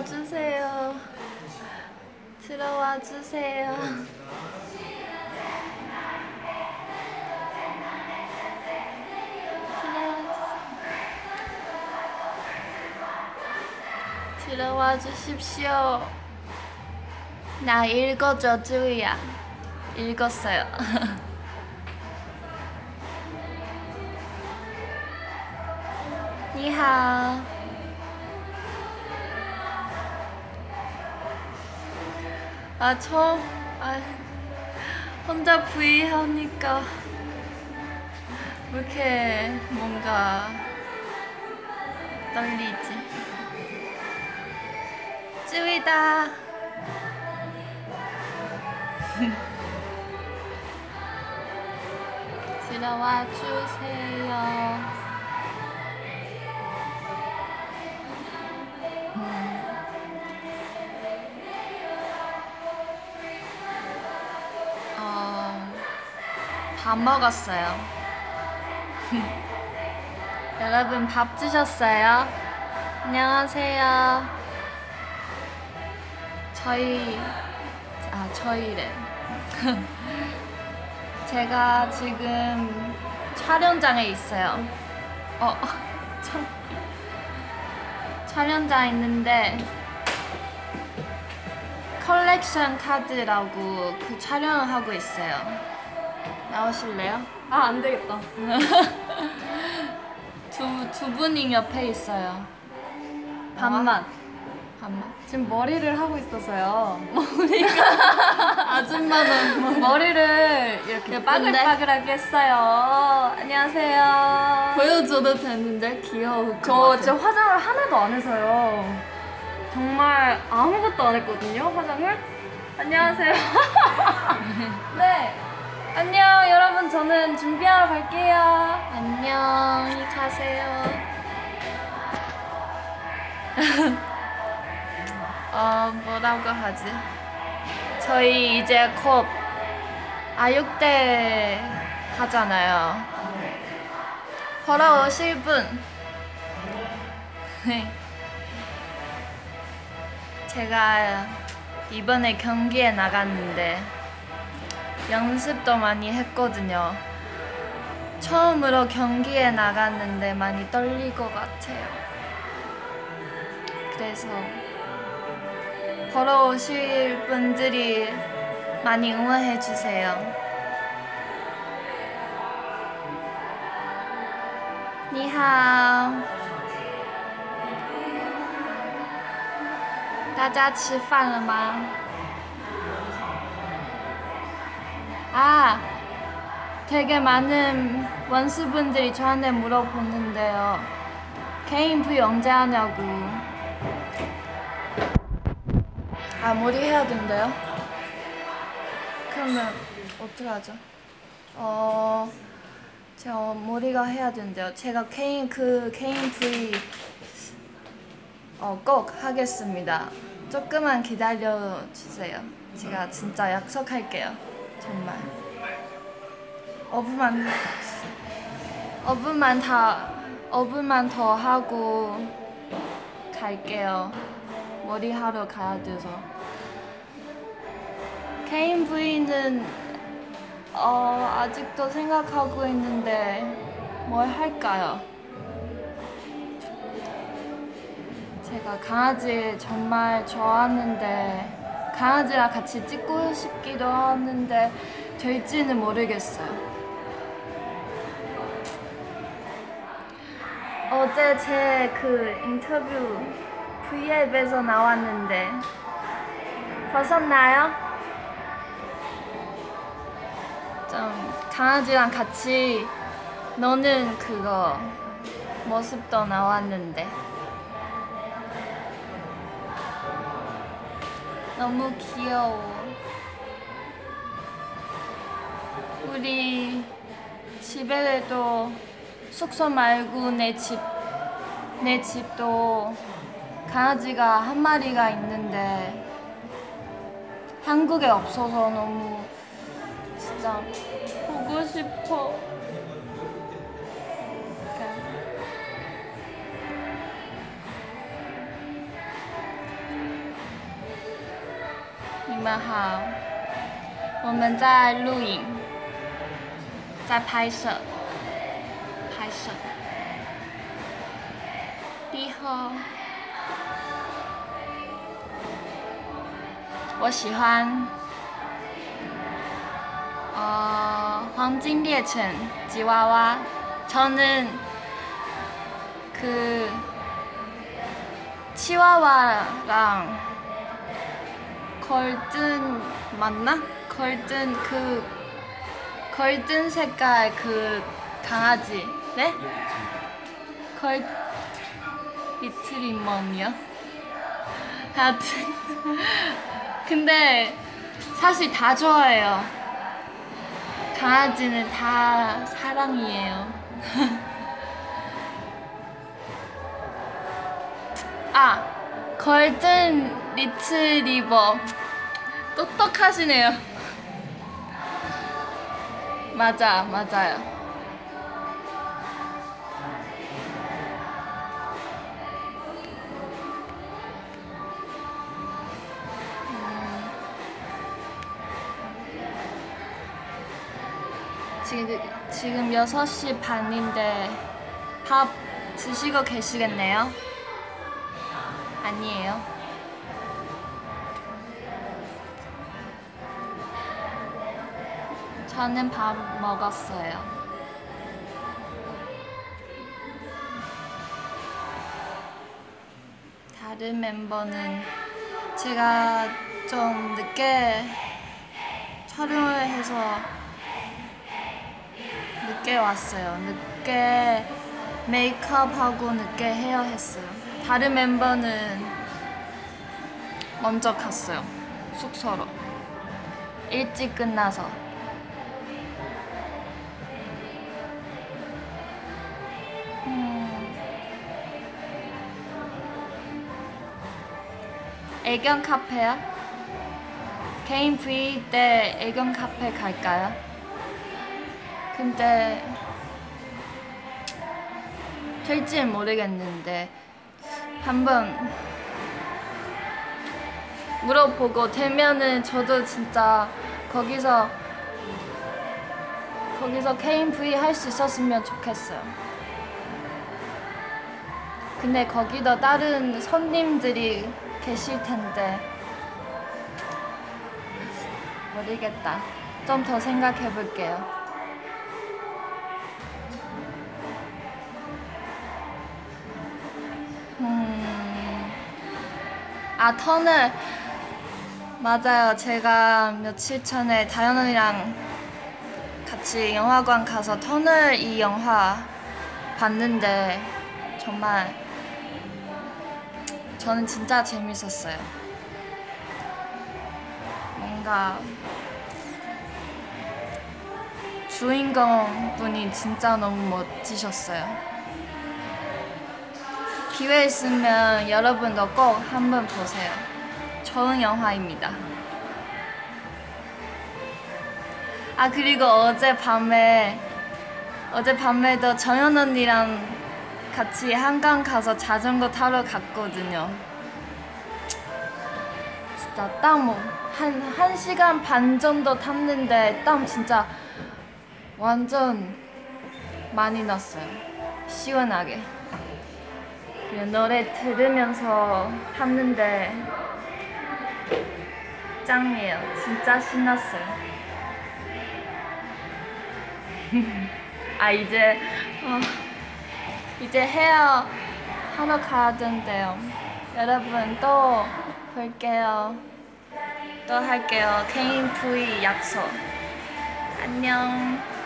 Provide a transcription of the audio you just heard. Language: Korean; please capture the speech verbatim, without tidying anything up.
주세요. 들어와 주세요. 들어와 주십시오. 나 읽어줘, 쯔위야. 읽었어요. 니하오. 아, 저, 아, 혼자 브이 하니까 왜 이렇게 뭔가 떨리지? 쯔위다. 들어와 주세요. 어, 밥 먹었어요. 여러분 밥 드셨어요? 안녕하세요. 저희 아 저희래. 제가 지금 촬영장에 있어요. 어, 참. 촬영장 있는데 컬렉션 카드라고 그 촬영을 하고 있어요. 나오실래요? 아, 안 되겠다. 두, 두 분이 옆에 있어요. 반만. 반만. 지금 머리를 하고 있어서요. 아줌마는 머리를 이렇게 빠글빠글하게 했어요. 안녕하세요. 보여줘도 되는데 귀여울 저 것 같아. 진짜 화장을 하나도 안 해서요. 정말 아무것도 안 했거든요, 화장을. 안녕하세요. 네. 안녕, 여러분. 저는 준비하러 갈게요. 안녕히 가세요. 어, 뭐라고 하지? 저희 이제 곧 아육대 하잖아요. 보러 오실 분. 제가 이번에 경기에 나갔는데 연습도 많이 했거든요. 처음으로 경기에 나갔는데 많이 떨릴 것 같아요. 그래서 보러 오실 분들이 많이 응원해 주세요. 니하오. 大家吃饭了吗? 아, 되게 많은 원수분들이 저한테 물어보는데요. 개인 브이 언제 하냐고. 아, 머리 해야 된대요? 그러면 어떡하죠? 어, 제가 머리가 해야 된대요. 제가 개인 그 개인 브이 어, 꼭 하겠습니다. 조금만 기다려 주세요. 제가 진짜 약속할게요. 정말. 오 분만 오 분만 다 오 분만 더 하고 갈게요. 머리 하러 가야 돼서. 개인 브이는 어, 아직도 생각하고 있는데 뭘 할까요? 제가 강아지 정말 좋아하는데 강아지랑 같이 찍고 싶기도 하는데 될지는 모르겠어요. 어제 제 그 인터뷰 브이앱에서 나왔는데 보셨나요? 좀 강아지랑 같이 노는 그거 모습도 나왔는데 너무 귀여워. 우리 집에도 숙소 말고 내 집, 내 집도 강아지가 한 마리가 있는데 한국에 없어서 너무 진짜 보고 싶어. 们好，我们在录影，在拍摄，拍摄。你好，我喜欢，어黄金猎犬吉娃娃。 저는 그 치와와랑 골든 맞나? 골든 그 골든 색깔 그 강아지 네? 골 리트리멈이요? 하여튼 근데 사실 다 좋아해요. 강아지는 다 사랑이에요. 아, 골든 리트리버. 똑똑하시네요. 맞아, 맞아요. 음, 지금, 지금 여섯 시 반인데 밥 드시고 계시겠네요? 아니에요. 저는 밥 먹었어요. 다른 멤버는 제가 좀 늦게 촬영을 해서 늦게 왔어요. 늦게 메이크업하고 늦게 헤어 했어요. 다른 멤버는 먼저 갔어요. 숙소로. 일찍 끝나서. 음. 애견 카페야? 개인 브이 때 애견 카페 갈까요? 근데 될지 모르겠는데 한번 물어보고 되면은 저도 진짜 거기서 거기서 개인 브이 할 수 있었으면 좋겠어요. 근데 거기도 다른 손님들이 계실 텐데 모르겠다. 좀 더 생각해 볼게요. 음, 아 터널 맞아요. 제가 며칠 전에 다현 언니랑 같이 영화관 가서 터널 이 영화 봤는데 정말 저는 진짜 재밌었어요. 뭔가 주인공 분이 진짜 너무 멋지셨어요. 기회 있으면 여러분도 꼭 한번 보세요. 좋은 영화입니다. 아 그리고 어젯밤에 어젯밤에도 정연 언니랑 같이 한강 가서 자전거 타러 갔거든요. 진짜 땀 한 한 시간 반 정도 탔는데 땀 진짜 완전 많이 났어요. 시원하게. 그리고 노래 들으면서 탔는데 짱이에요. 진짜 신났어요. 아 이제 어, 이제 헤어 하러 가야 된대요. 여러분 또 볼게요. 또 할게요. 개인 브이 약속. 안녕.